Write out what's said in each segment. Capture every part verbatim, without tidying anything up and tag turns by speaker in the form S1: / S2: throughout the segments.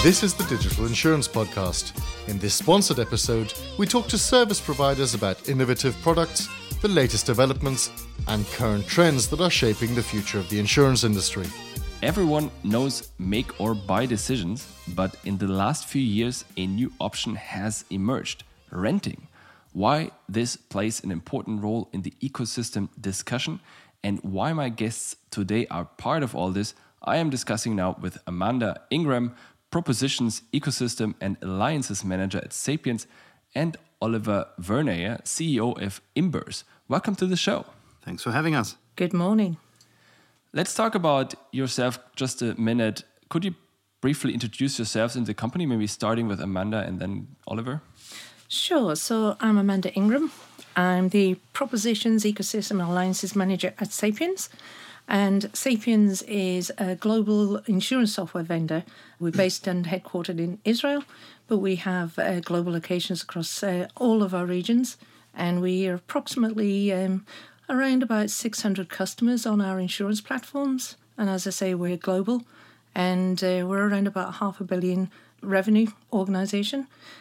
S1: This is the Digital Insurance Podcast. In this sponsored episode, we talk to service providers about innovative products, the latest developments, and current trends that are shaping the future of the insurance industry.
S2: Everyone knows make or buy decisions, but in the last few years, a new option has emerged: renting. Why this plays an important role in the ecosystem discussion, and why my guests today are part of all this, I am discussing now with Amanda Ingram, Propositions, Ecosystem and Alliances Manager at Sapiens, and Oliver Verneyer, C E O of Imbers. Welcome to the show.
S3: Thanks for having us.
S4: Good morning.
S2: Let's talk about yourself just a minute. Could you briefly introduce yourselves in the company, maybe starting with Amanda and then Oliver?
S4: Sure. So I'm Amanda Ingram. I'm the Propositions, Ecosystem and Alliances Manager at Sapiens. And Sapiens is a global insurance software vendor. We're based and headquartered in Israel, but we have uh, global locations across uh, all of our regions. And we are approximately um, around about six hundred customers on our insurance platforms. And as I say, we're global. And uh, we're around about half a billion revenue organisation.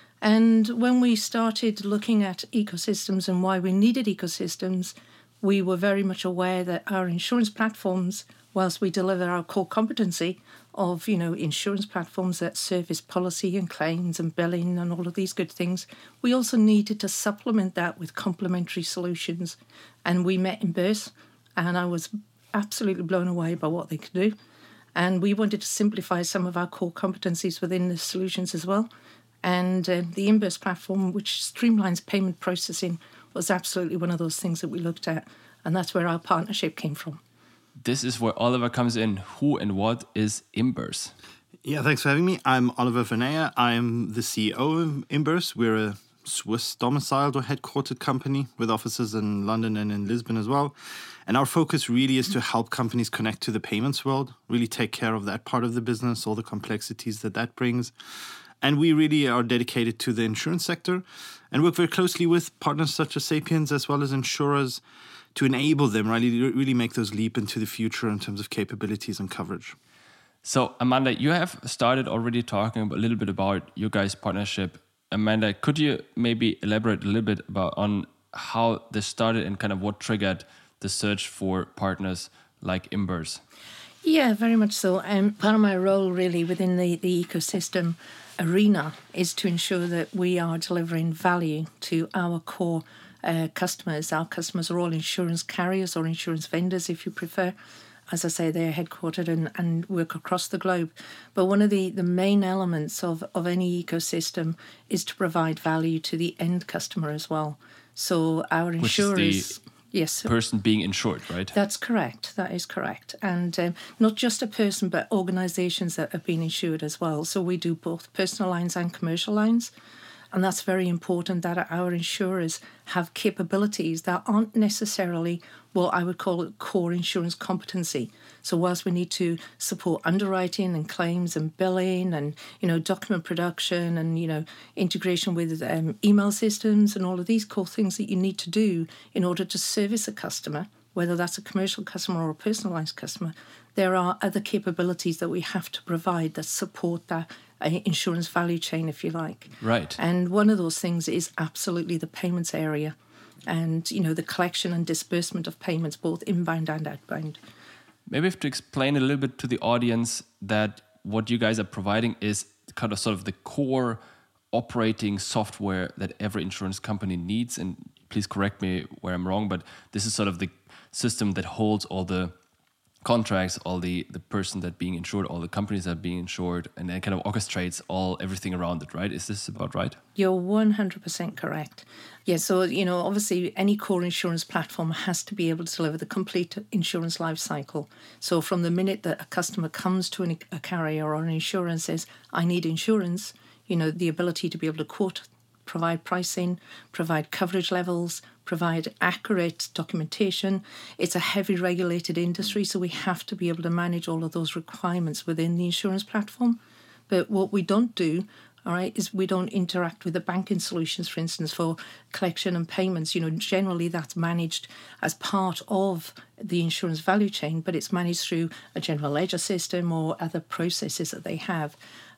S4: And when we started looking at ecosystems and why we needed ecosystems, we were very much aware that our insurance platforms, whilst we deliver our core competency of, you know, insurance platforms that service policy and claims and billing and all of these good things, we also needed to supplement that with complementary solutions. And we met Imbers, and I was absolutely blown away by what they could do. And we wanted to simplify some of our core competencies within the solutions as well. And uh, the Imbers platform, which streamlines payment processing, was absolutely one of those things that we looked at, and that's where our partnership came from.
S2: This is where Oliver comes in. Who and what is Imbers?
S3: Yeah, thanks for having me. I'm Oliver Verneyer. I'm the C E O of Imbers. We're a Swiss domiciled or headquartered company with offices in London and in Lisbon as well. And our focus really is to help companies connect to the payments world, really take care of that part of the business, all the complexities that that brings. And we really are dedicated to the insurance sector and work very closely with partners such as Sapiens as well as insurers to enable them really, really make those leap into the future in terms of capabilities and coverage.
S2: So, Amanda, you have started already talking a little bit about your guys' partnership. Amanda, could you maybe elaborate a little bit about on how this started and kind of what triggered the search for partners like Imbers?
S4: Yeah, very much so. Um, part of my role really within the, the ecosystem arena is to ensure that we are delivering value to our core uh, customers. Our customers are all insurance carriers or insurance vendors, if you prefer. As I say, they're headquartered and, and work across the globe. But one of the, the main elements of, of any ecosystem is to provide value to the end customer as well. So our insurers...
S2: Which is the yes, person being insured, right?
S4: That's correct. That is correct. And um, not just a person, but organisations that have been insured as well. So we do both personal lines and commercial lines. And that's very important that our insurers have capabilities that aren't necessarily what I would call it core insurance competency. So whilst we need to support underwriting and claims and billing and, you know, document production and, you know, integration with um, email systems and all of these core things that you need to do in order to service a customer, whether that's a commercial customer or a personalised customer, there are other capabilities that we have to provide that support that uh, insurance value chain, if you like.
S2: Right.
S4: And one of those things is absolutely the payments area and, you know, the collection and disbursement of payments, both inbound and outbound.
S2: Maybe we have to explain a little bit to the audience that what you guys are providing is kind of sort of the core operating software that every insurance company needs. And please correct me where I'm wrong, but this is sort of the system that holds all the contracts, all the, the person that being insured, all the companies that are being insured, and then kind of orchestrates all everything around it, right? Is this about right?
S4: You're one hundred percent correct. Yeah, so, you know, obviously any core insurance platform has to be able to deliver the complete insurance life cycle. So from the minute that a customer comes to an, a carrier or an insurer and says, I need insurance, you know, the ability to be able to quote, provide pricing, provide coverage levels, provide accurate documentation. It's a heavy regulated industry, so we have to be able to manage all of those requirements within the insurance platform. But what we don't do, all right, is we don't interact with the banking solutions, for instance, for collection and payments. You know, generally that's managed as part of the insurance value chain, but it's managed through a general ledger system or other processes that they have.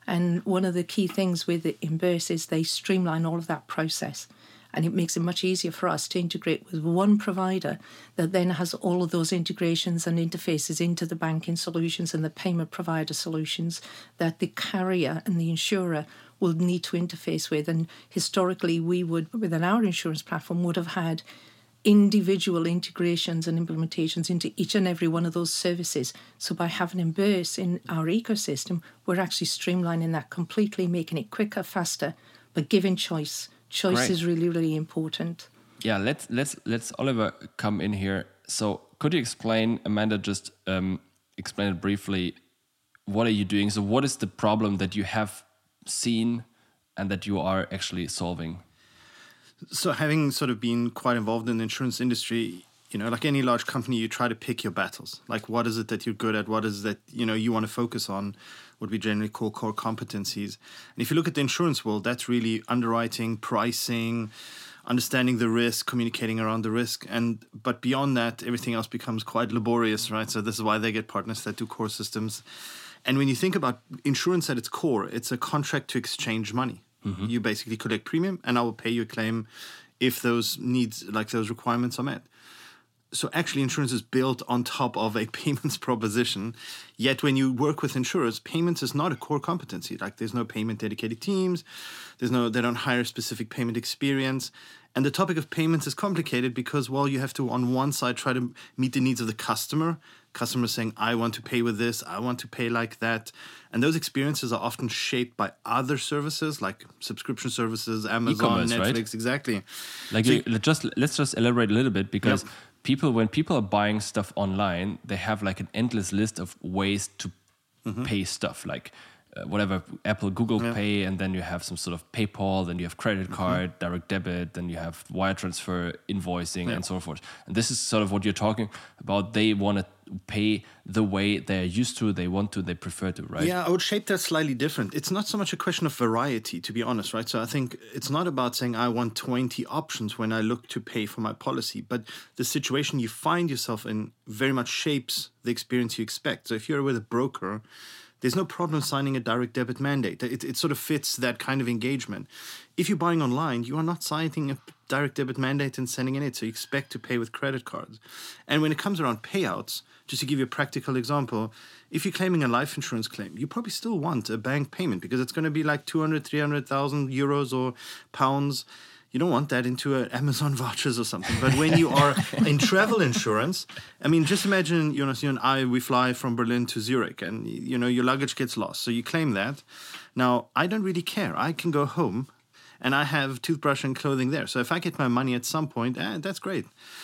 S4: And one of the key things with Imburse is they streamline all of that process. And it makes it much easier for us to integrate with one provider that then has all of those integrations and interfaces into the banking solutions and the payment provider solutions that the carrier and the insurer will need to interface with. And historically, we would, within our insurance platform, would have had individual integrations and implementations into each and every one of those services. So by having Imburse in our ecosystem, we're actually streamlining that completely, making it quicker, faster, but giving choice. Choice
S2: Great.
S4: is really, really important.
S2: Yeah, let's let's let's Oliver come in here. So could you explain, Amanda, just um, explain it briefly, what are you doing? So what is the problem that you have seen and that you are actually solving?
S3: So having sort of been quite involved in the insurance industry, you know, like any large company, you try to pick your battles. Like, what is it that you're good at? What is it that, you know, you want to focus on? What we generally call core competencies. And if you look at the insurance world, that's really underwriting, pricing, understanding the risk, communicating around the risk. And but beyond that, everything else becomes quite laborious, right? So this is why they get partners that do core systems. And when you think about insurance at its core, it's a contract to exchange money. Mm-hmm. You basically collect premium and I will pay you a claim if those needs, like those requirements are met. So actually insurance is built on top of a payments proposition. Yet when you work with insurers, payments is not a core competency. Like there's no payment dedicated teams. There's no, they don't hire specific payment experience. And the topic of payments is complicated because, well, you have to, on one side, try to meet the needs of the customer. Customers saying, I want to pay with this, I want to pay like that. And those experiences are often shaped by other services like subscription services, Amazon,
S2: E-commerce,
S3: Netflix,
S2: right?
S3: Exactly.
S2: Like
S3: So
S2: you, just let's just elaborate a little bit because
S3: Yep.
S2: people, when people are buying stuff online, they have like an endless list of ways to
S3: Mm-hmm.
S2: pay stuff, like uh, whatever Apple, Google
S3: Yeah.
S2: Pay, and then you have some sort of PayPal, then you have credit card,
S3: Mm-hmm.
S2: direct debit, then you have wire transfer, invoicing,
S3: Yeah.
S2: and so forth. And this is sort of what you're talking about. They want to pay the way they're used to, they want to, they prefer to, right?
S3: Yeah, I would shape that slightly different. It's not so much a question of variety, to be honest, right? So I think it's not about saying I want twenty options when I look to pay for my policy, but the situation you find yourself in very much shapes the experience you expect. So if you're with a broker, there's no problem signing a direct debit mandate. It, it sort of fits that kind of engagement. If you're buying online, you are not signing a direct debit mandate and sending in it. So you expect to pay with credit cards. And when it comes around payouts, just to give you a practical example, if you're claiming a life insurance claim, you probably still want a bank payment because it's going to be like two hundred, three hundred thousand euros or pounds. You don't want that into a Amazon vouchers or something. But when you are in travel insurance, I mean, just imagine, you know, you and I, we fly from Berlin to Zurich and, you know, your luggage gets lost. So you claim that. Now, I don't really care. I can go home and I have toothbrush and clothing there. So if I get my money at some point, eh, that's great.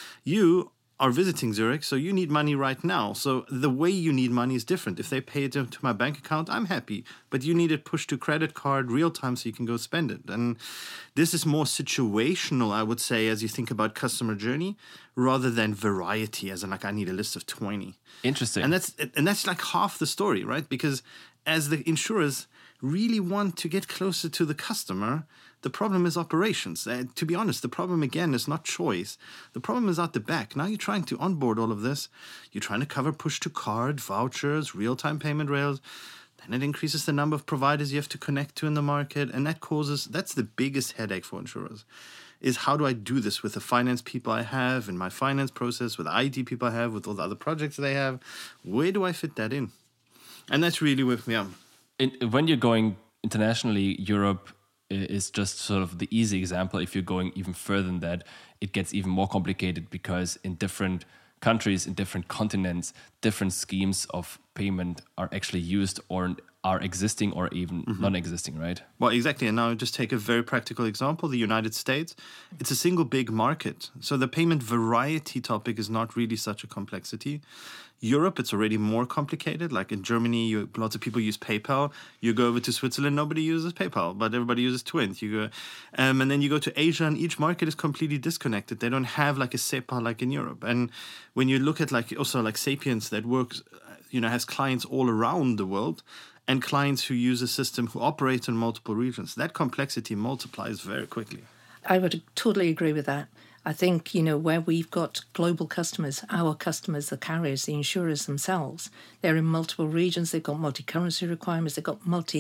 S3: You are visiting Zurich, so you need money right now. So the way you need money is different. If they pay it to my bank account, I'm happy. But you need it pushed to credit card real time so you can go spend it. And this is more situational, I would say, as you think about customer journey, rather than variety, as in like I need a list of twenty.
S2: Interesting.
S3: And that's and that's like half the story, right? Because as the insurers really want to get closer to the customer, the problem is operations. Uh, to be honest, the problem, again, is not choice. The problem is at the back. Now you're trying to onboard all of this. You're trying to cover push-to-card, vouchers, real-time payment rails. Then it increases the number of providers you have to connect to in the market. And that causes, that's the biggest headache for insurers, is how do I do this with the finance people I have in my finance process, with the I T people I have, with all the other projects they have? Where do I fit that in? And that's really with me. Yeah.
S2: In, when you're going internationally, Europe is just sort of the easy example. If you're going even further than that, it gets even more complicated because in different countries, in different continents, different schemes of payment are actually used or are existing or even mm-hmm. non-existing, right?
S3: Well, exactly. And now just take a very practical example, the United States. It's a single big market. So the payment variety topic is not really such a complexity. Europe, it's already more complicated. Like in Germany, you, lots of people use PayPal. You go over to Switzerland, nobody uses PayPal, but everybody uses Twint. You go, um, and then you go to Asia, and each market is completely disconnected. They don't have like a SEPA like in Europe. And when you look at like also like Sapiens that works, you know, has clients all around the world, and clients who use a system who operate in multiple regions, that complexity multiplies very quickly.
S4: I would totally agree with that. I think, you know, where we've got global customers, our customers, the carriers, the insurers themselves, they're in multiple regions, they've got multi-currency requirements, they've got multi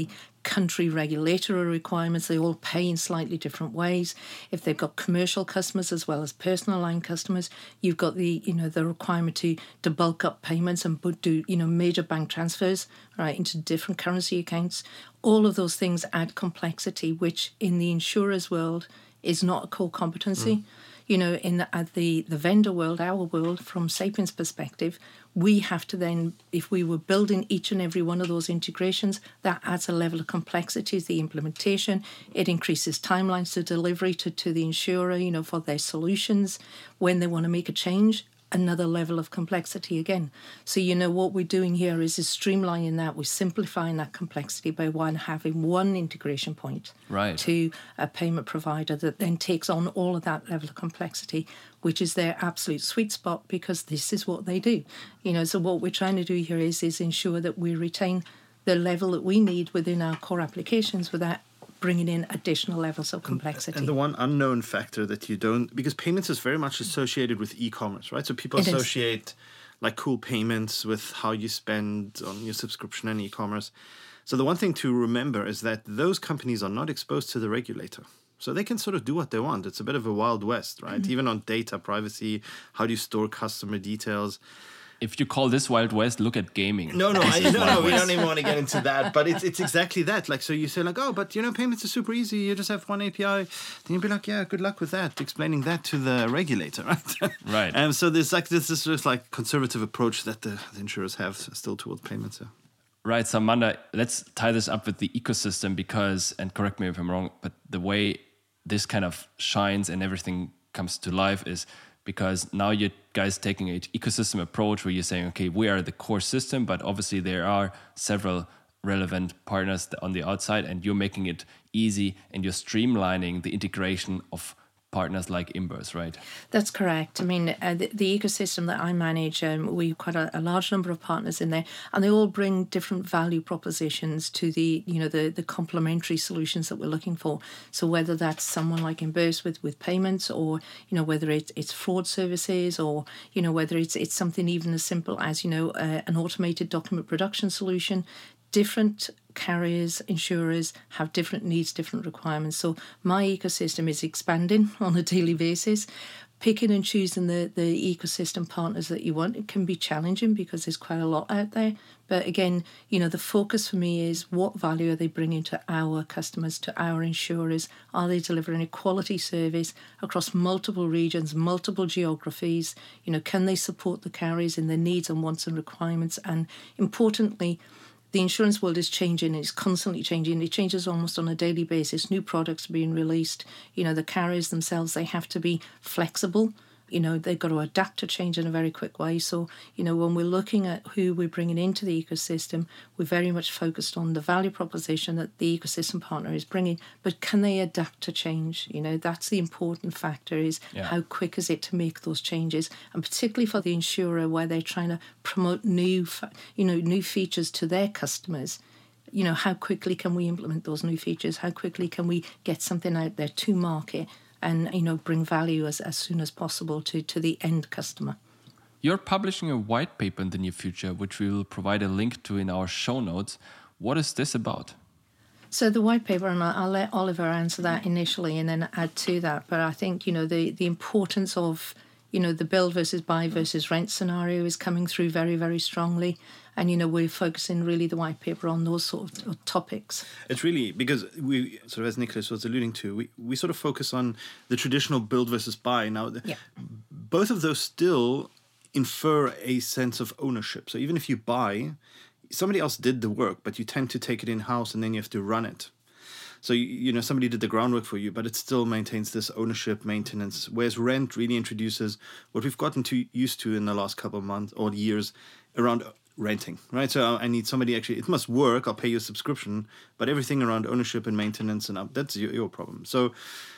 S4: country regulatory requirements. They all pay in slightly different ways. If they've got commercial customers as well as personal line customers, you've got the, you know, the requirement to, to bulk up payments and do, you know, major bank transfers, right, into different currency accounts. All of those things add complexity, which in the insurers world is not a core competency. Mm. You know, in the, at the, the vendor world, our world, from Sapiens' perspective, we have to then, if we were building each and every one of those integrations, that adds a level of complexity to the implementation. It increases timelines to delivery to, to the insurer, you know, for their solutions. When they want to make a change, another level of complexity again. So, you know, what we're doing here is, is streamlining that. We're simplifying that complexity by one having one integration point
S2: right.
S4: to a payment provider that then takes on all of that level of complexity, which is their absolute sweet spot, because this is what they do. You know, so what we're trying to do here is, is ensure that we retain the level that we need within our core applications without bringing in additional levels of complexity.
S3: And the one unknown factor that you don't, because payments is very much associated with e-commerce, right? So people it associate is. like cool payments with how you spend on your subscription and e-commerce. So the one thing to remember is that those companies are not exposed to the regulator. So they can sort of do what they want. It's a bit of a wild west, right? Mm-hmm. Even on data privacy, how do you store customer details?
S2: If you call this Wild West, look at gaming.
S3: No, no, I, no, no, we don't even want to get into that. But it's it's exactly that. Like, so you say like, oh, but you know, payments are super easy. You just have one A P I. Then you'd be like, yeah, good luck with that. Explaining that to the regulator, right?
S2: Right.
S3: And um, so there's like this is just like conservative approach that the, the insurers have still towards payments. Yeah.
S2: Right. So Amanda, let's tie this up with the ecosystem because, and correct me if I'm wrong, but the way this kind of shines and everything comes to life is because now you guys taking an ecosystem approach where you're saying, okay, we are the core system, but obviously there are several relevant partners on the outside, and you're making it easy and you're streamlining the integration of partners like Imbers, right?
S4: That's correct. I mean, uh, the, the ecosystem that I manage, um, we've got a, a large number of partners in there, and they all bring different value propositions to the, you know, the, the complementary solutions that we're looking for. So whether that's someone like Imbers with, with payments, or, you know, whether it's, it's fraud services, or, you know, whether it's it's something even as simple as, you know, uh, an automated document production solution. Different carriers, insurers have different needs, different requirements. So my ecosystem is expanding on a daily basis. Picking and choosing the, the ecosystem partners that you want, it can be challenging because there's quite a lot out there. But again, you know, the focus for me is what value are they bringing to our customers, to our insurers? Are they delivering a quality service across multiple regions, multiple geographies? You know, can they support the carriers in their needs and wants and requirements? And importantly, the insurance world is changing. It's constantly changing. It changes almost on a daily basis. New products are being released. You know, the carriers themselves, they have to be flexible. You know, they've got to adapt to change in a very quick way. So, you know, when we're looking at who we're bringing into the ecosystem, we're very much focused on the value proposition that the ecosystem partner is bringing. But can they adapt to change? You know, that's the important factor, is yeah. how quick is it to make those changes? And particularly for the insurer, where they're trying to promote new, you know, new features to their customers. You know, how quickly can we implement those new features? How quickly can we get something out there to market? And, you know, bring value as, as soon as possible to, to the end customer.
S2: You're publishing a white paper in the near future, which we will provide a link to in our show notes. What is this about?
S4: So the white paper, and I'll let Oliver answer that initially and then add to that. But I think, you know, the, the importance of, you know, the build versus buy versus rent scenario is coming through very, very strongly. And, you know, we're focusing really the white paper on those sort of topics.
S3: It's really, because we, sort of as Nicholas was alluding to, we, we sort of focus on the traditional build versus buy. Now,
S4: yeah.
S3: both of those still infer a sense of ownership. So even if you buy, somebody else did the work, but you tend to take it in-house and then you have to run it. So, you know, somebody did the groundwork for you, but it still maintains this ownership maintenance, whereas rent really introduces what we've gotten too used to in the last couple of months or years around renting, right? So I need somebody actually, it must work, I'll pay you a subscription, but everything around ownership and maintenance and up, that's your, your problem. So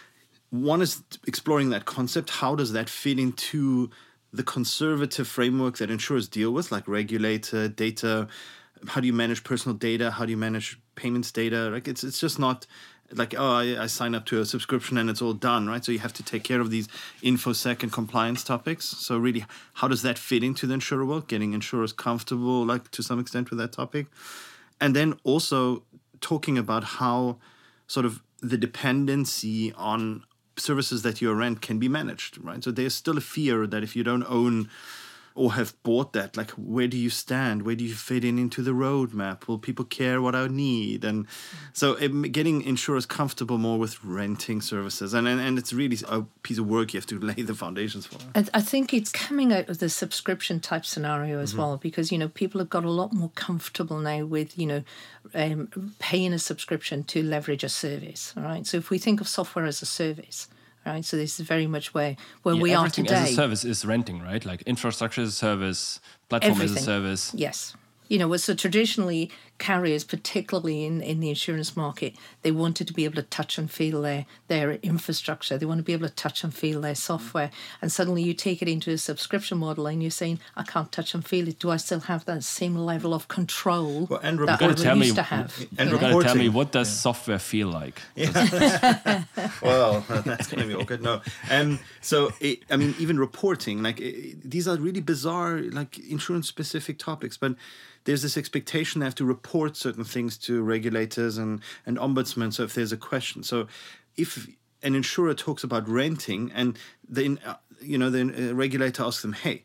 S3: one is exploring that concept. How does that fit into the conservative framework that insurers deal with, like regulator, data? How do you manage personal data? How do you manage payments data? Like it's it's just not like, oh, I, I sign up to a subscription and it's all done, right? So you have to take care of these InfoSec and compliance topics. So really, how does that fit into the insurer world? Getting insurers comfortable, like to some extent, with that topic. And then also talking about how sort of the dependency on services that you rent can be managed, right? So there's still a fear that if you don't own or have bought that, like, where do you stand? Where do you fit in into the roadmap? Will people care what I need? And so it, getting insurers comfortable more with renting services. And, and, and it's really a piece of work you have to lay the foundations for.
S4: I, I think it's coming out of the subscription type scenario as mm-hmm. well, because, you know, people have got a lot more comfortable now with, you know, um, paying a subscription to leverage a service, all right? So if we think of software as a service, right, so this is very much where, where
S2: yeah,
S4: we are today.
S2: Everything as a service is renting, right? Like infrastructure as a service, platform
S4: everything.
S2: as a service.
S4: Yes. You know, so traditionally carriers, particularly in, in the insurance market, they wanted to be able to touch and feel their, their infrastructure. They want to be able to touch and feel their software. And suddenly you take it into a subscription model and you're saying, I can't touch and feel it. Do I still have that same level of control
S3: well, and
S4: that I used me, to have?
S2: And you've got to tell me, what does yeah. software feel like?
S3: Yeah. Well, that's going to be awkward. No. Um, so, it, I mean, even reporting, like it, these are really bizarre, like insurance-specific topics, but there's this expectation they have to report certain things to regulators and, and ombudsmen. So if there's a question, so if an insurer talks about renting and the uh, you know the regulator asks them, hey,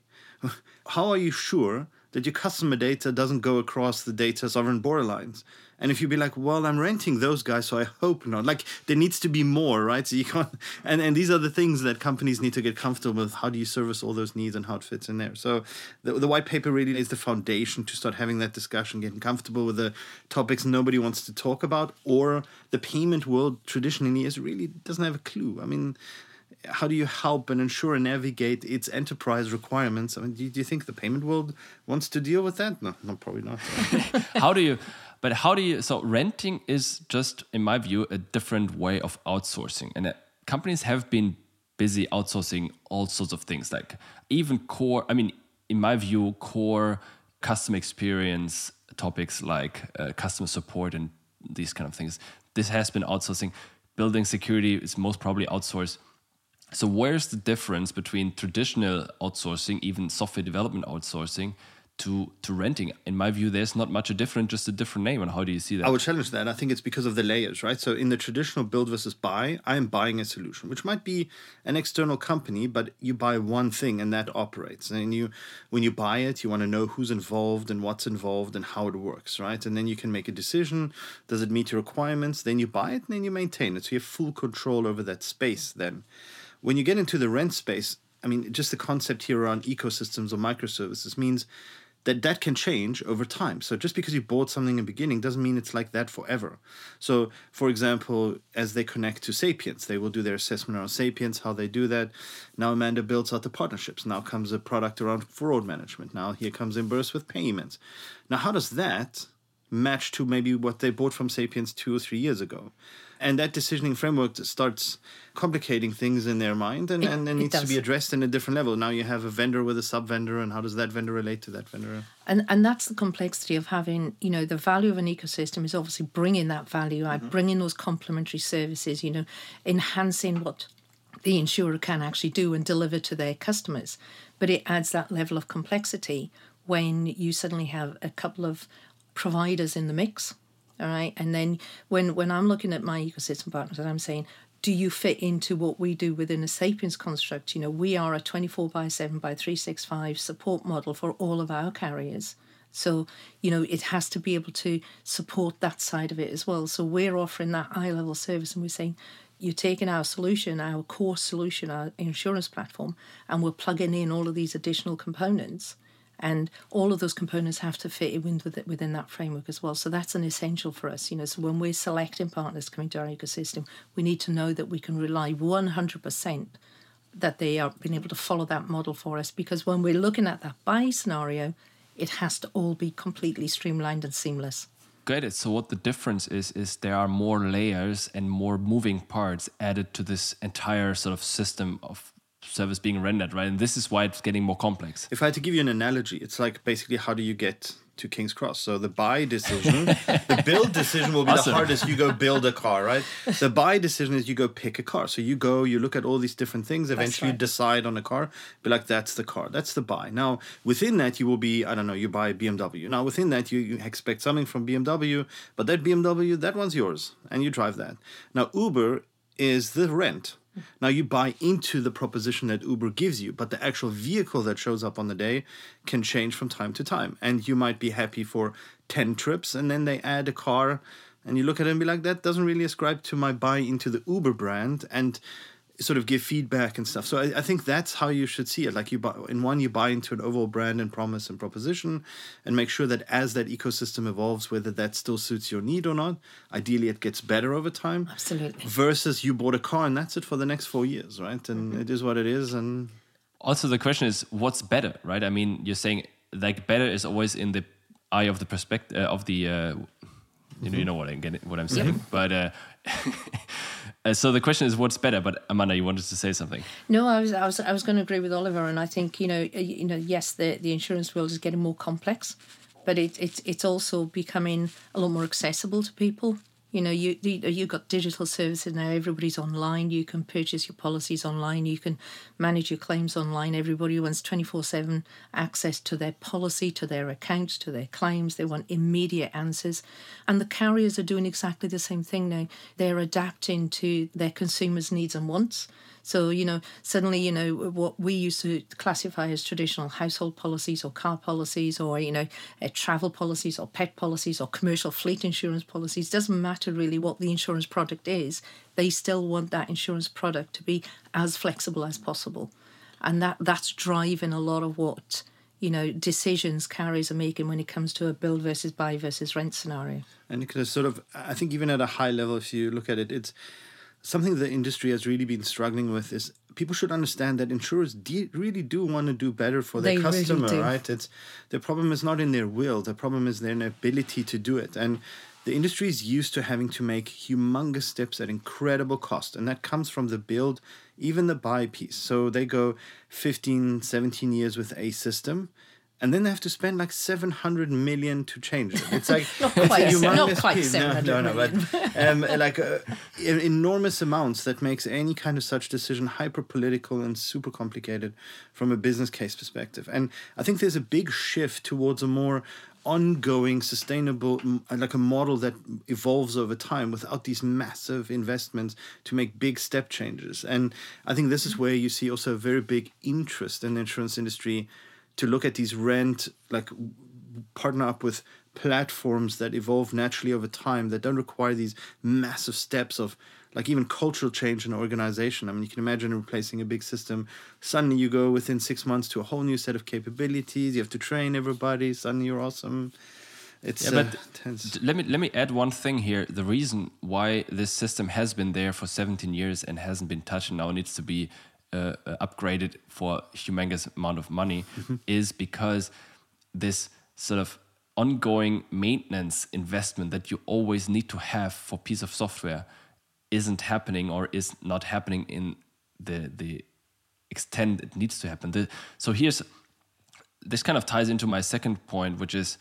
S3: how are you sure that your customer data doesn't go across the data sovereign borderlines? And if you'd be like, well, I'm renting those guys, so I hope not. Like, there needs to be more, right? So you can't. And, and these are the things that companies need to get comfortable with. How do you service all those needs and how it fits in there? So the, the white paper really is the foundation to start having that discussion, getting comfortable with the topics nobody wants to talk about, or the payment world traditionally is really doesn't have a clue. I mean, how do you help an insurer navigate its enterprise requirements? I mean, do you, do you think the payment world wants to deal with that? No, no, probably not.
S2: How do you... But how do you, so renting is just, in my view, a different way of outsourcing. And uh, companies have been busy outsourcing all sorts of things, like even core, I mean, in my view, core customer experience topics like uh, customer support and these kind of things. This has been outsourcing. Building security is most probably outsourced. So where's the difference between traditional outsourcing, even software development outsourcing, to to renting? In my view, there's not much a different, just a different name. And how do you see that?
S3: I would challenge that. I think it's because of the layers, right? So in the traditional build versus buy, I am buying a solution, which might be an external company, but you buy one thing and that operates. And you, when you buy it, you want to know who's involved and what's involved and how it works, right? And then you can make a decision. Does it meet your requirements? Then you buy it and then you maintain it. So you have full control over that space then. When you get into the rent space, I mean, just the concept here around ecosystems or microservices means that that can change over time. So just because you bought something in the beginning doesn't mean it's like that forever. So, for example, as they connect to Sapiens, they will do their assessment around Sapiens, how they do that. Now Amanda builds out the partnerships. Now comes a product around fraud management. Now here comes Imburse with payments. Now, how does that match to maybe what they bought from Sapiens two or three years ago? And that decisioning framework starts complicating things in their mind and,
S4: it,
S3: and, and needs to be addressed in a different level. Now you have a vendor with a sub-vendor, and how does that vendor relate to that vendor?
S4: And and that's the complexity of having, you know, the value of an ecosystem is obviously bringing that value out, mm-hmm. bringing those complementary services, you know, enhancing what the insurer can actually do and deliver to their customers. But it adds that level of complexity when you suddenly have a couple of providers in the mix. All right. And then when, when I'm looking at my ecosystem partners and I'm saying, do you fit into what we do within a Sapiens construct? You know, we are a twenty-four by seven by three sixty-five support model for all of our carriers. So, you know, it has to be able to support that side of it as well. So we're offering that high-level service and we're saying, you're taking our solution, our core solution, our insurance platform, and we're plugging in all of these additional components. And all of those components have to fit in within that framework as well. So that's an essential for us. You know, so when we're selecting partners coming to our ecosystem, we need to know that we can rely one hundred percent that they are being able to follow that model for us. Because when we're looking at that buy scenario, it has to all be completely streamlined and seamless.
S2: Got it. So what the difference is, is there are more layers and more moving parts added to this entire sort of system of service being rendered, right? And this is why it's getting more complex.
S3: If I had to give you an analogy, it's like basically how do you get to King's Cross? So the buy decision, the build decision will be awesome. The hardest. You go build a car, right? The buy decision is you go pick a car. So you go, you look at all these different things, eventually right. you decide on a car, be like, that's the car, that's the buy. Now, within that, you will be, I don't know, you buy B M W. Now, within that, you, you expect something from B M W, but that B M W, that one's yours, and you drive that. Now, Uber is the rent. Now you buy into the proposition that Uber gives you, but the actual vehicle that shows up on the day can change from time to time. And you might be happy for ten trips, and then they add a car, and you look at it and be like, that doesn't really ascribe to my buy into the Uber brand, and sort of give feedback and stuff. So I, I think that's how you should see it. Like you buy, in one, you buy into an overall brand and promise and proposition, and make sure that as that ecosystem evolves, whether that still suits your need or not, ideally it gets better over time.
S4: Absolutely.
S3: Versus you bought a car and that's it for the next four years, right? And mm-hmm. it is what it is. And
S2: also the question is, what's better, right? I mean, you're saying like better is always in the eye of the perspective uh, of the. Uh, You know, you know what I'm getting, what I'm saying, yep. but uh, uh, so the question is, what's better? But Amanda, you wanted to say something.
S4: No, I was, I was, I was going to agree with Oliver, and I think you know, you know, yes, the, the insurance world is getting more complex, but it, it it's also becoming a lot more accessible to people. You know, you you got digital services now. Everybody's online. You can purchase your policies online. You can manage your claims online. Everybody wants twenty-four seven access to their policy, to their accounts, to their claims. They want immediate answers. And the carriers are doing exactly the same thing now. They're adapting to their consumers' needs and wants. So, you know, suddenly, you know, what we used to classify as traditional household policies or car policies or, you know, uh, travel policies or pet policies or commercial fleet insurance policies, doesn't matter really what the insurance product is. They still want that insurance product to be as flexible as possible. And that that's driving a lot of what, you know, decisions carriers are making when it comes to a build versus buy versus rent scenario.
S3: And it can sort of, I think even at a high level, if you look at it, it's something the industry has really been struggling with is people should understand that insurers de- really do want to do better for their
S4: they
S3: customer,
S4: really do.
S3: right? It's the problem is not in their will. The problem is their ability to do it. And the industry is used to having to make humongous steps at incredible cost. And that comes from the build, even the buy piece. So they go fifteen, seventeen years with a system. And then they have to spend like seven hundred million to change it. It's like
S4: not quite,
S3: it's
S4: not quite seven hundred
S3: no, no, no,
S4: million.
S3: But um, like uh, enormous amounts that makes any kind of such decision hyper political and super complicated from a business case perspective. And I think there's a big shift towards a more ongoing, sustainable, like a model that evolves over time without these massive investments to make big step changes. And I think this is where you see also a very big interest in the insurance industry to look at these rent, like partner up with platforms that evolve naturally over time that don't require these massive steps of like even cultural change in an organization. I mean, you can imagine replacing a big system. Suddenly you go within six months to a whole new set of capabilities. You have to train everybody. Suddenly you're awesome. It's
S2: yeah, but
S3: uh, tense.
S2: Let me let me add one thing here. The reason why this system has been there for seventeen years and hasn't been touched and now needs to be Uh, uh, upgraded for a humongous amount of money mm-hmm. is because this sort of ongoing maintenance investment that you always need to have for a piece of software isn't happening or is not happening in the the extent it needs to happen. The, so here's, this kind of ties into my second point, which is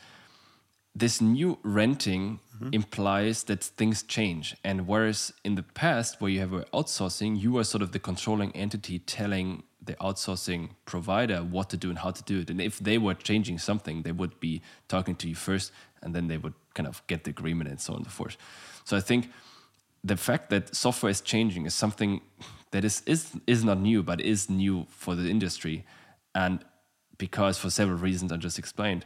S2: this new renting mm-hmm. implies that things change. And whereas in the past, where you have outsourcing, you are sort of the controlling entity telling the outsourcing provider what to do and how to do it. And if they were changing something, they would be talking to you first, and then they would kind of get the agreement and so on and so forth. So I think the fact that software is changing is something that is is, is not new, but is new for the industry. And because for several reasons I just explained.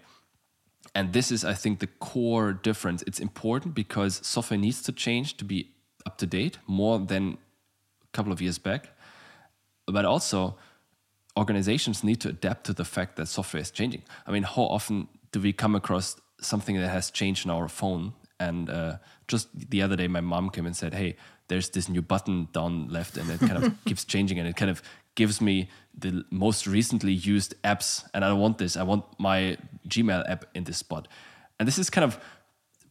S2: And this is, I think, the core difference. It's important because software needs to change to be up to date more than a couple of years back. But also, organizations need to adapt to the fact that software is changing. I mean, how often do we come across something that has changed on our phone? And uh, just the other day, my mom came and said, hey, there's this new button down left and it kind of keeps changing and it kind of gives me the most recently used apps, and I don't want this. I want my Gmail app in this spot. And this is kind of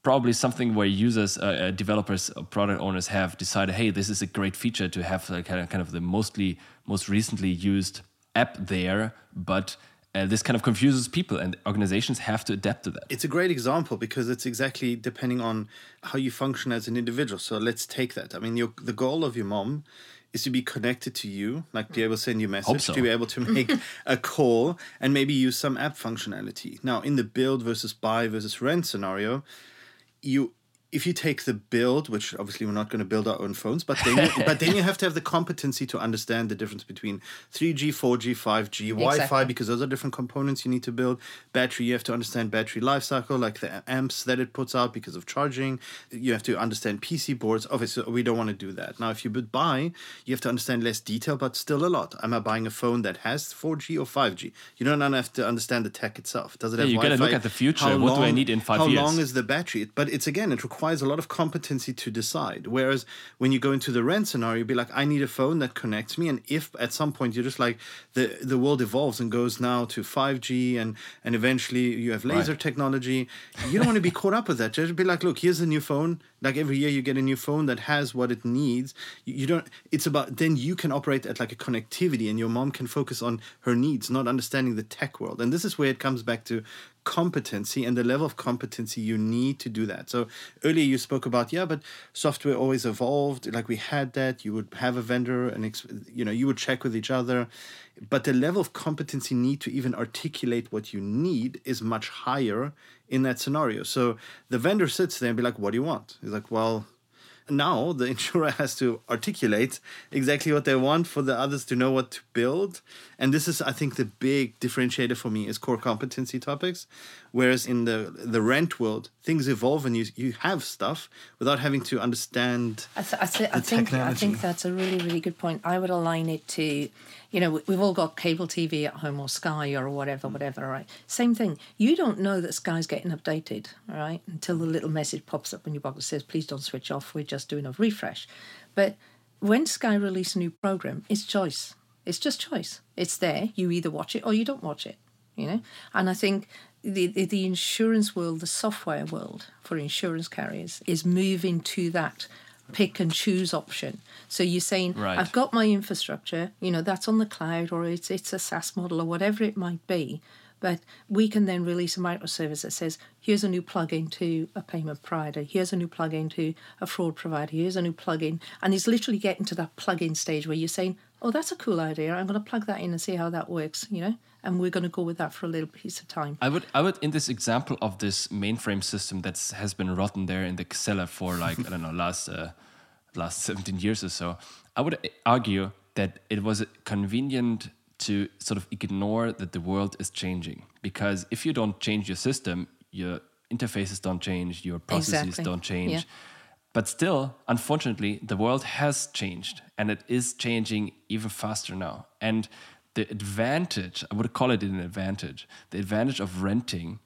S2: probably something where users, uh, uh, developers, uh, product owners have decided, hey, this is a great feature to have uh, kind of kind of the mostly most recently used app there, but uh, this kind of confuses people, and organizations have to adapt to that.
S3: It's a great example because it's exactly depending on how you function as an individual. So let's take that. I mean, your, the goal of your mom is to be connected to you, like be able to send you a message,
S2: so.
S3: to be able to make a call, and maybe use some app functionality. Now, in the build versus buy versus rent scenario, you if you take the build, which obviously we're not going to build our own phones, but then you, but then you have to have the competency to understand the difference between three G, four G, five G, exactly. Wi-Fi, because those are different components you need to build. Battery, you have to understand battery life cycle, like the amps that it puts out because of charging. You have to understand P C boards. Obviously, we don't want to do that. Now, if you would buy, you have to understand less detail, but still a lot. Am I buying a phone that has four G or five G? You don't have to understand the tech itself. Does it have
S2: yeah, you
S3: Wi-Fi?
S2: You got to look at the future.
S3: How
S2: what
S3: long,
S2: do I need in five
S3: how
S2: years?
S3: How long is the battery? But it's, again, it requires a lot of competency to decide. Whereas when you go into the rent scenario, you'd be like, I need a phone that connects me. And if at some point you're just like, the, the world evolves and goes now to five G and, and eventually you have laser
S2: right.
S3: technology, you don't want to be caught up with that. Just be like, look, here's a new phone. Like every year you get a new phone that has what it needs. You, you don't, it's about, then you can operate at like a connectivity and your mom can focus on her needs, not understanding the tech world. And this is where it comes back to competency and the level of competency you need to do that. So earlier you spoke about, yeah, but software always evolved. Like we had that, you would have a vendor and, you know, you would check with each other. But the level of competency need to even articulate what you need is much higher in that scenario. So the vendor sits there and be like, what do you want? He's like, well, now the insurer has to articulate exactly what they want for the others to know what to build. And this is, I think, the big differentiator for me is core competency topics. Whereas in the the rent world, things evolve and you you have stuff without having to understand
S4: I, th- I, th-
S3: the
S4: I think
S3: technology.
S4: I think that's a really, really good point. I would align it to, you know, we've all got cable T V at home or Sky or whatever, whatever, right? Same thing. You don't know that Sky's getting updated, all right, until the little message pops up on your box that says, please don't switch off, we're just doing a refresh. But when Sky release a new program, it's choice. It's just choice. It's there. You either watch it or you don't watch it, you know? And I think the, the, the insurance world, the software world for insurance carriers is moving to that pick and choose option. So you're saying,
S2: right.
S4: I've got my infrastructure, you know, that's on the cloud or it's it's a SaaS model or whatever it might be. But we can then release a microservice that says, here's a new plugin to a payment provider, here's a new plugin to a fraud provider, here's a new plugin. And it's literally getting to that plugin stage where you're saying, oh, that's a cool idea. I'm going to plug that in and see how that works, you know, and we're going to go with that for a little piece of time.
S2: I would, I would, in this example of this mainframe system that has been rotten there in the cellar for like, I don't know, last, uh, last seventeen years or so, I would argue that it was convenient to sort of ignore that the world is changing. Because if you don't change your system, your interfaces don't change, your processes
S4: Exactly.
S2: don't change.
S4: Yeah.
S2: But still, unfortunately, the world has changed and it is changing even faster now. And the advantage, I would call it an advantage, the advantage of renting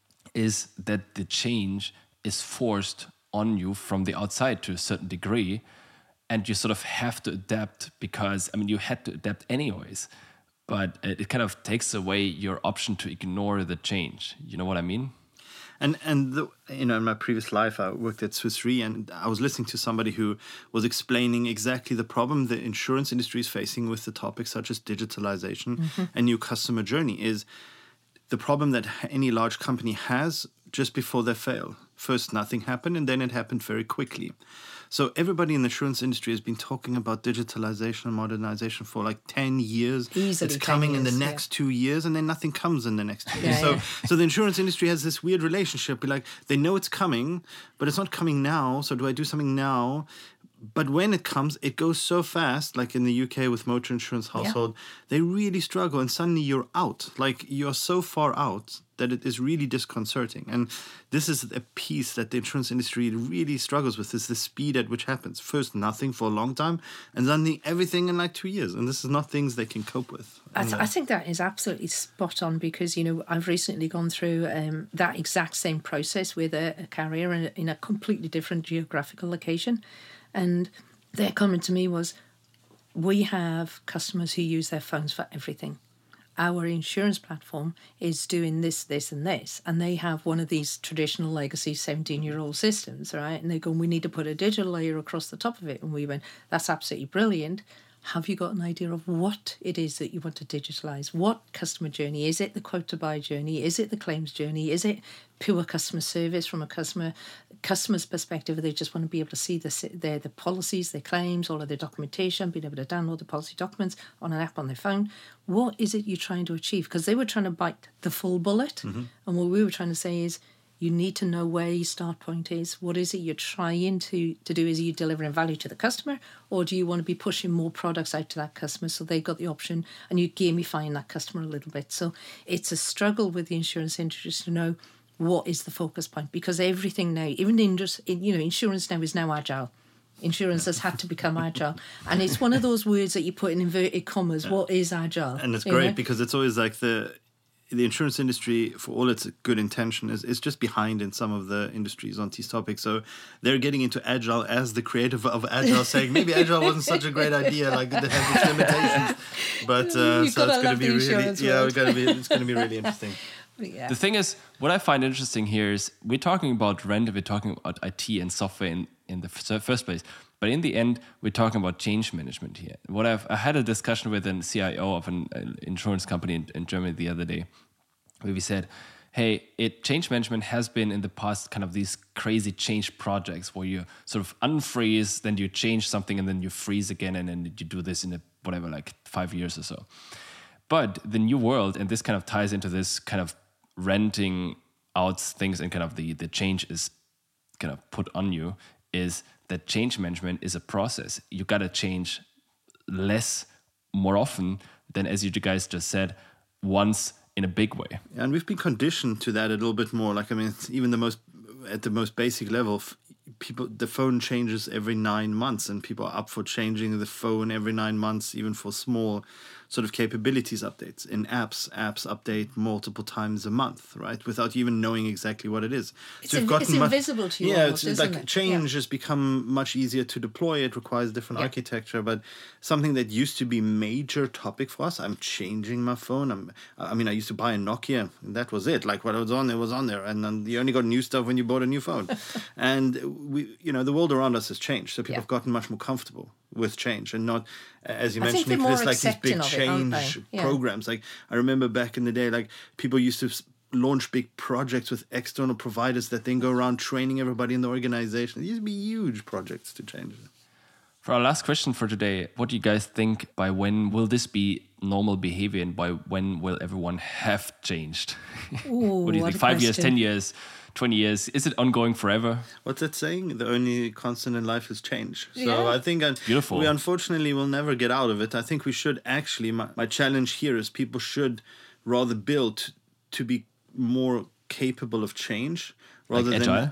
S2: is that the change is forced on you from the outside to a certain degree. And you sort of have to adapt because, I mean, you had to adapt anyways. But it kind of takes away your option to ignore the change. You know what I mean?
S3: And and the, you know, in my previous life, I worked at Swiss Re, and I was listening to somebody who was explaining exactly the problem the insurance industry is facing with the topics such as digitalization mm-hmm. and new customer journey. Is the problem that any large company has just before they fail. First, nothing happened, and then it happened very quickly. So everybody in the insurance industry has been talking about digitalization and modernization for like ten years.
S4: Easily
S3: it's coming
S4: years,
S3: in the
S4: yeah.
S3: next two years, and then nothing comes in the next two years.
S4: Yeah,
S3: so,
S4: yeah.
S3: so the insurance industry has this weird relationship. Like they know it's coming, but it's not coming now. So do I do something now? But when it comes, it goes so fast, like in the U K with motor insurance household, yeah. they really struggle. And suddenly you're out. Like you're so far out that it is really disconcerting. And this is a piece that the insurance industry really struggles with, is the speed at which happens. First, nothing for a long time, and suddenly everything in like two years. And this is not things they can cope with.
S4: I, th- I think that is absolutely spot on because, you know, I've recently gone through um, that exact same process with a, a carrier in a, in a completely different geographical location. And their comment to me was, we have customers who use their phones for everything. our insurance platform is doing this, this, and this. And they have one of these traditional legacy seventeen-year-old systems, right? And they're going, we need to put a digital layer across the top of it. And we went, that's absolutely brilliant. Have you got an idea of what it is that you want to digitalize? What customer journey? Is it the quote to buy journey? Is it the claims journey? Is it pure customer service from a customer customer's perspective? They just want to be able to see the, their the policies, their claims, all of their documentation, being able to download the policy documents on an app on their phone. What is it you're trying to achieve? Because they were trying to bite the full bullet. Mm-hmm. And what we were trying to say is, you need to know where your start point is. What is it you're trying to, to do? Is you delivering value to the customer, or do you want to be pushing more products out to that customer so they've got the option and you're gamifying that customer a little bit? So it's a struggle with the insurance industry to know what is the focus point, because everything now, even the industry, you know, insurance now is now agile. Insurance has had to become agile. And it's one of those words that you put in inverted commas. Yeah. What is agile?
S3: And it's great, you know? Because it's always like the... the insurance industry, for all its good intention, is, is just behind in some of the industries on these topics. So they're getting into agile as the creator of agile, saying maybe agile wasn't such a great idea, like it has its limitations. But uh, so it's going to be really, yeah, it's going to be it's going to be really interesting.
S2: Yeah. The thing is, what I find interesting here is we're talking about rent, we're talking about I T and software in, in the first place. But in the end, we're talking about change management here. What I've I had a discussion with a C I O of an, an insurance company in, in Germany the other day, where we said, hey, it change management has been in the past kind of these crazy change projects where you sort of unfreeze, then you change something, and then you freeze again, and then you do this in a, whatever, like five years or so. But the new world, and this kind of ties into this kind of renting out things and kind of the, the change is kind of put on you, is that change management is a process. You got to change less more often than, as you guys just said, once in a big way.
S3: And we've been conditioned to that a little bit more. Like, I mean, even the most, at the most basic level, people, the phone changes every nine months and people are up for changing the phone every nine months, even for small sort of capabilities updates. In apps, apps update multiple times a month, right? Without even knowing exactly what it is.
S4: It's, so inv- it's much, invisible to you.
S3: Yeah,
S4: almost,
S3: it's like
S4: it?
S3: change
S4: yeah.
S3: has become much easier to deploy. It requires different yeah. architecture, but something that used to be major topic for us. I'm changing my phone. I'm, I mean, I used to buy a Nokia, and that was it. Like what was on there was on there, and then you only got new stuff when you bought a new phone. And we, you know, the world around us has changed, so people yeah. have gotten much more comfortable with change and not, as you
S4: I
S3: mentioned,
S4: Nicholas,
S3: like these big
S4: it,
S3: change
S4: yeah.
S3: programs. Like I remember back in the day, like people used to launch big projects with external providers that then go around training everybody in the organization. These would be huge projects to change.
S2: For our last question for today, what do you guys think, by when will this be normal behavior, and by when will everyone have changed?
S4: Ooh,
S2: what do you think? Five question. years, ten years? twenty years? Is it ongoing forever?
S3: What's that saying? The only constant in life is change. So
S4: yeah.
S3: I think uh,
S2: Beautiful.
S3: we unfortunately will never get out of it. I think we should actually, my, my challenge here is people should rather build to be more capable of change rather
S2: like
S3: than...
S2: agile?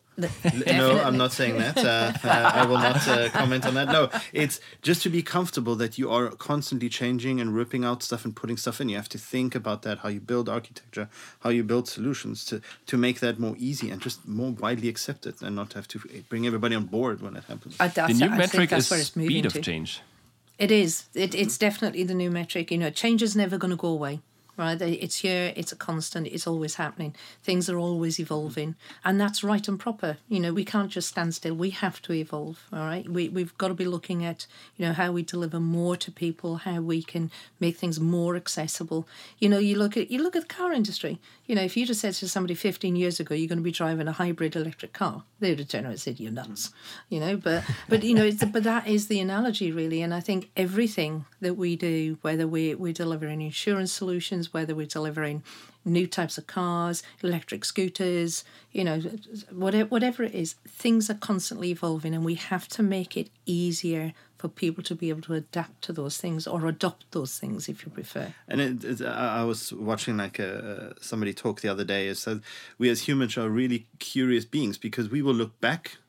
S3: No, I'm not saying that. Uh, uh, I will not uh, comment on that. No, it's just to be comfortable that you are constantly changing and ripping out stuff and putting stuff in. You have to think about that, how you build architecture, how you build solutions to, to make that more easy and just more widely accepted, and not have to bring everybody on board when it happens.
S4: I,
S2: the new
S4: I
S2: metric is
S4: speed
S2: of
S4: to.
S2: change.
S4: It is. It, it's definitely the new metric. You know, change is never going to go away. Right, it's here, it's a constant, it's always happening. Things are always evolving, and that's right and proper. You know, we can't just stand still. We have to evolve. All right, we we've got to be looking at, you know, how we deliver more to people, how we can make things more accessible. You know, you look at you look at the car industry. You know, if you just said to somebody fifteen years ago, you're going to be driving a hybrid electric car, they would have turned around and said, "You're nuts." You know, but but you know, it's, but that is the analogy really, and I think everything that we do, whether we we're delivering insurance solutions, whether we're delivering new types of cars, electric scooters, you know, whatever, whatever it is, things are constantly evolving, and we have to make it easier for people to be able to adapt to those things or adopt those things, if you prefer.
S3: And it, it, I was watching like a, somebody talk the other day. It said we as humans are really curious beings because we will look back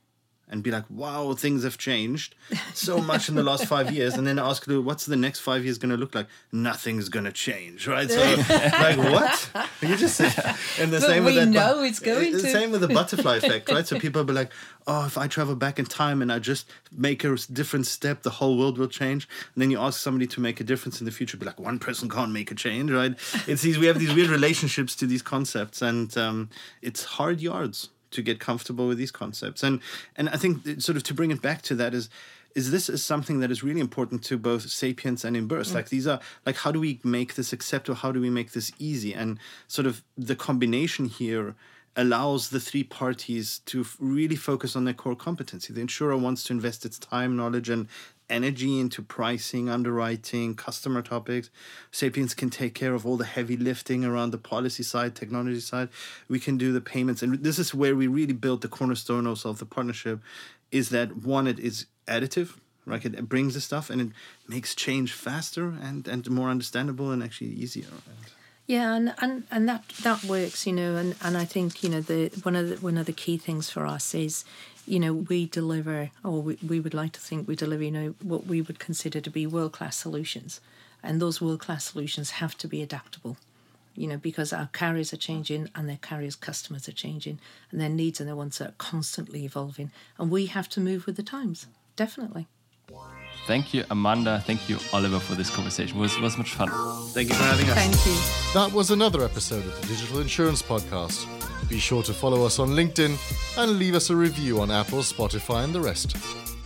S3: and be like, wow, things have changed so much in the last five years. And then ask you, what's the next five years going to look like? Nothing's going to change, right? So, like, what? You just, and the
S4: But
S3: same
S4: we
S3: with that,
S4: know it's going
S3: the
S4: to.
S3: same with the butterfly effect, right? So people be like, oh, if I travel back in time and I just make a different step, the whole world will change. And then you ask somebody to make a difference in the future, be like, one person can't make a change, right? It's these, we have these weird relationships to these concepts, and um, it's hard yards to get comfortable with these concepts. And and I think that sort of to bring it back to that is, is this is something that is really important to both Sapiens and Imburse. Mm. Like these are, like, how do we make this acceptable? How do we make this easy? And sort of the combination here allows the three parties to f- really focus on their core competency. The insurer wants to invest its time, knowledge, and energy into pricing, underwriting, customer topics. Sapiens can take care of all the heavy lifting around the policy side, technology side. We can do the payments. And this is where we really build the cornerstone also of the partnership, is that one, it is additive, right? It brings the stuff and it makes change faster and, and more understandable and actually easier.
S4: Yeah, and, and, and that, that works, you know, and, and I think, you know, the one of the one of the key things for us is, you know, we deliver, or we, we would like to think we deliver, you know, what we would consider to be world-class solutions. And those world-class solutions have to be adaptable, you know, because our carriers are changing and their carriers' customers are changing and their needs and their wants are constantly evolving. And we have to move with the times, definitely.
S2: Thank you, Amanda. Thank you, Oliver, for this conversation. It was, it was much fun.
S3: Thank you for having us.
S4: Thank you.
S1: That was another episode of the Digital Insurance Podcast. Be sure to follow us on LinkedIn and leave us a review on Apple, Spotify, and the rest.